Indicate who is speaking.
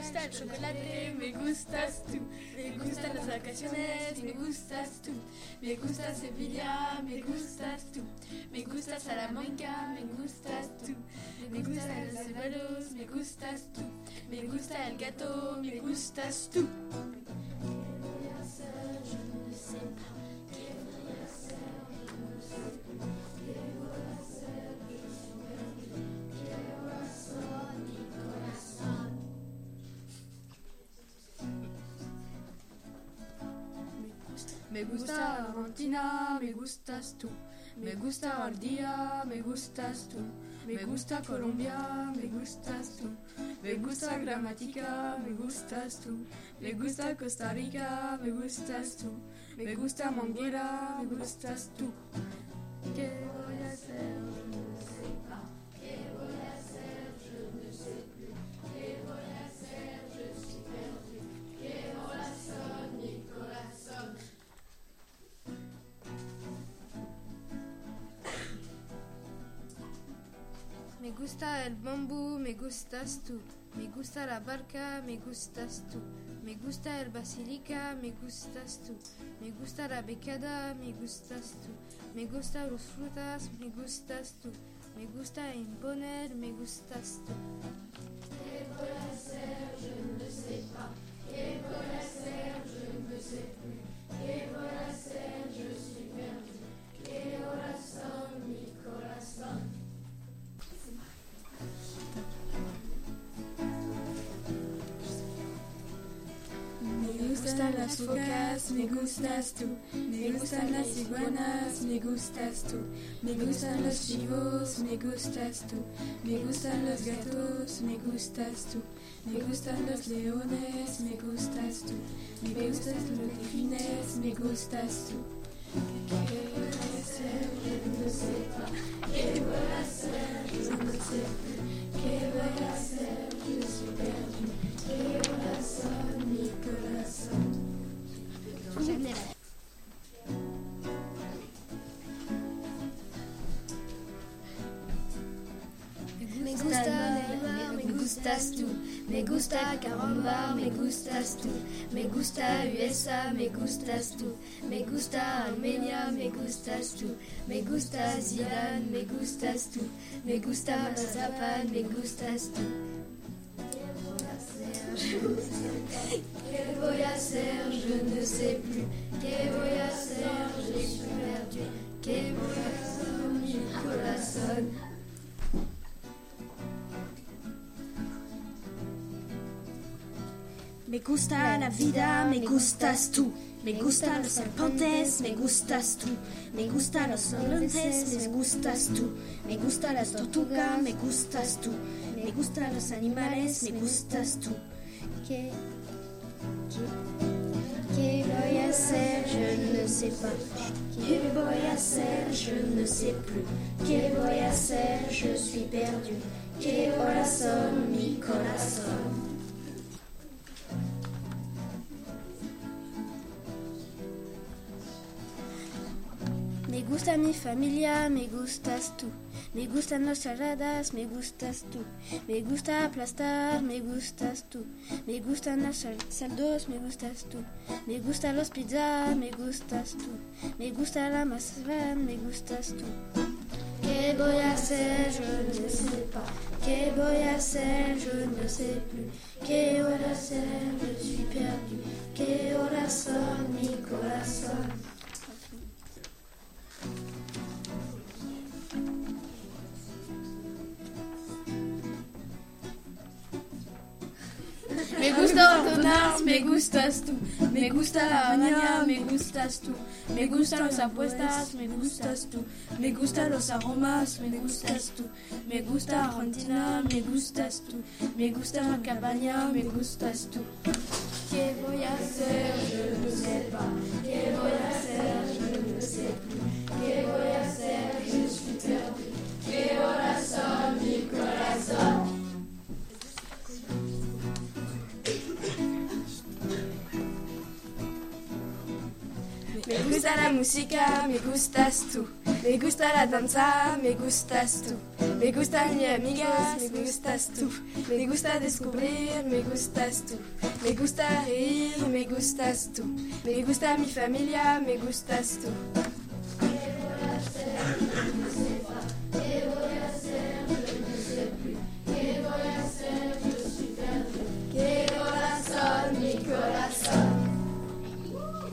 Speaker 1: gusta el chocolate, me gustas tú. Me gustan las vacaciones, me gustas tú. Me gusta Sevilla, me gustas tú. Me gusta Salamanca, me gustas tú. Me gustan los abuelos, me gustas tú. Me gusta el gato, me gustas tú.
Speaker 2: Me gusta Argentina, me gustas tú. Me gusta Ardía, me gustas tú. Me gusta Colombia, me gustas tú. Me gusta Gramática, me gustas tú. Me gusta Costa Rica, me gustas tú. Me gusta Manguera, me gustas tú. ¿Qué voy a hacer? Je ne sais pas. ¿Qué voy a hacer? Je ne sais plus. ¿Qué voy a hacer? Je suis perdu. ¿Qué corazón, mi corazón?
Speaker 3: Me gusta el bambú, me gustas tú. Me gusta la barca, me gustas tú. Me gusta el basilica, me gustas tú. Me gusta la becada, me gustas tú. Me gustan las frutas, me gustas tú. Me gusta imponer, me gustas tú.
Speaker 2: ¿Qué voy a hacer? Je ne sais pas. ¿Qué voy a hacer? Je ne sais plus. ¿Qué voy a hacer? Je suis perdu. ¿Qué corazón, mi corazón?
Speaker 1: Me gustan las focas, me gustas tú. Me gustan las iguanas, me gustas tú. Me gustan los chivos, me gustas tú. Me gustan los gatos, me gustas tú. Me gustan los leones, me gustas tú. Me gustan los delfines, me gustas tú. ¿Qué voy a hacer? Je ne sais pas. ¿Qué voy a hacer? Je ne sais plus. ¿Qué voy a hacer? Je suis perdu. ¿Qué corazón, mi corazón?
Speaker 4: Me gusta Neymar, me gustas tú. Me gusta Caramba, me gustas tú. Me gusta USA, me gustas tú. Me gusta Armenia, me gustas tú. Me gusta Zidane, me gustas tú. Me gusta Mazapán, me gustas tú. ¿Qué voy a hacer? Je ne sais plus. ¿Qué voy a hacer? Je suis perdu. ¿Qué voy a hacer? Mi corazón.
Speaker 5: Me gusta la vida, me gustas tú. Me gustan los serpientes, me gustas tú. Me gustan los serpientes, me gustas tú. Me gustan las tortugas, me gustas tú. Me gustan los animales, me gustas tú.
Speaker 4: ¿Qué voy a hacer? Je ne sais pas. ¿Qué voy a hacer? Je ne sais plus. ¿Qué voy a hacer? Je suis perdu. ¿Qué corazón, mi corazón?
Speaker 3: Me gusta mi familia, me gustas tú. Me gustan las saladas, me gustas tú. Me gusta aplastar, me gustas tú. Me gustan los saldos, me gustas tú. Me gustan los pizzas, me gustas tú. Me gusta la masa, me gustas tú.
Speaker 4: ¿Qué voy a hacer? Je ne sais pas. ¿Qué voy a hacer? Je ne sais plus. ¿Qué voy a hacer? Je suis perdu. ¿Qué corazón, mi corazón?
Speaker 1: Me gusta McDonald's, me gustas tú. Me gusta la Habana, me gustas tú. Me gustan las apuestas, me gustas tú. Me gustan los aromas, me gustas tú. Me gusta Argentina, me gustas tú. Me gusta la cabaña, me gustas tú.
Speaker 2: ¿Qué voy a hacer? Je ne sais pas. ¿Qué voy a hacer? Je ne sais plus. ¿Qué voy a hacer? Je suis perdu. ¿Qué corazón, mi corazón?
Speaker 1: Me gusta la música, me gustas tú.
Speaker 2: Me gusta la danza, me gustas tú. Me gustan mis amigas, me gustas tú. Me gusta descubrir, me gustas tú. Me gusta reír, me gustas tú. Me gusta mi familia, me gustas tú.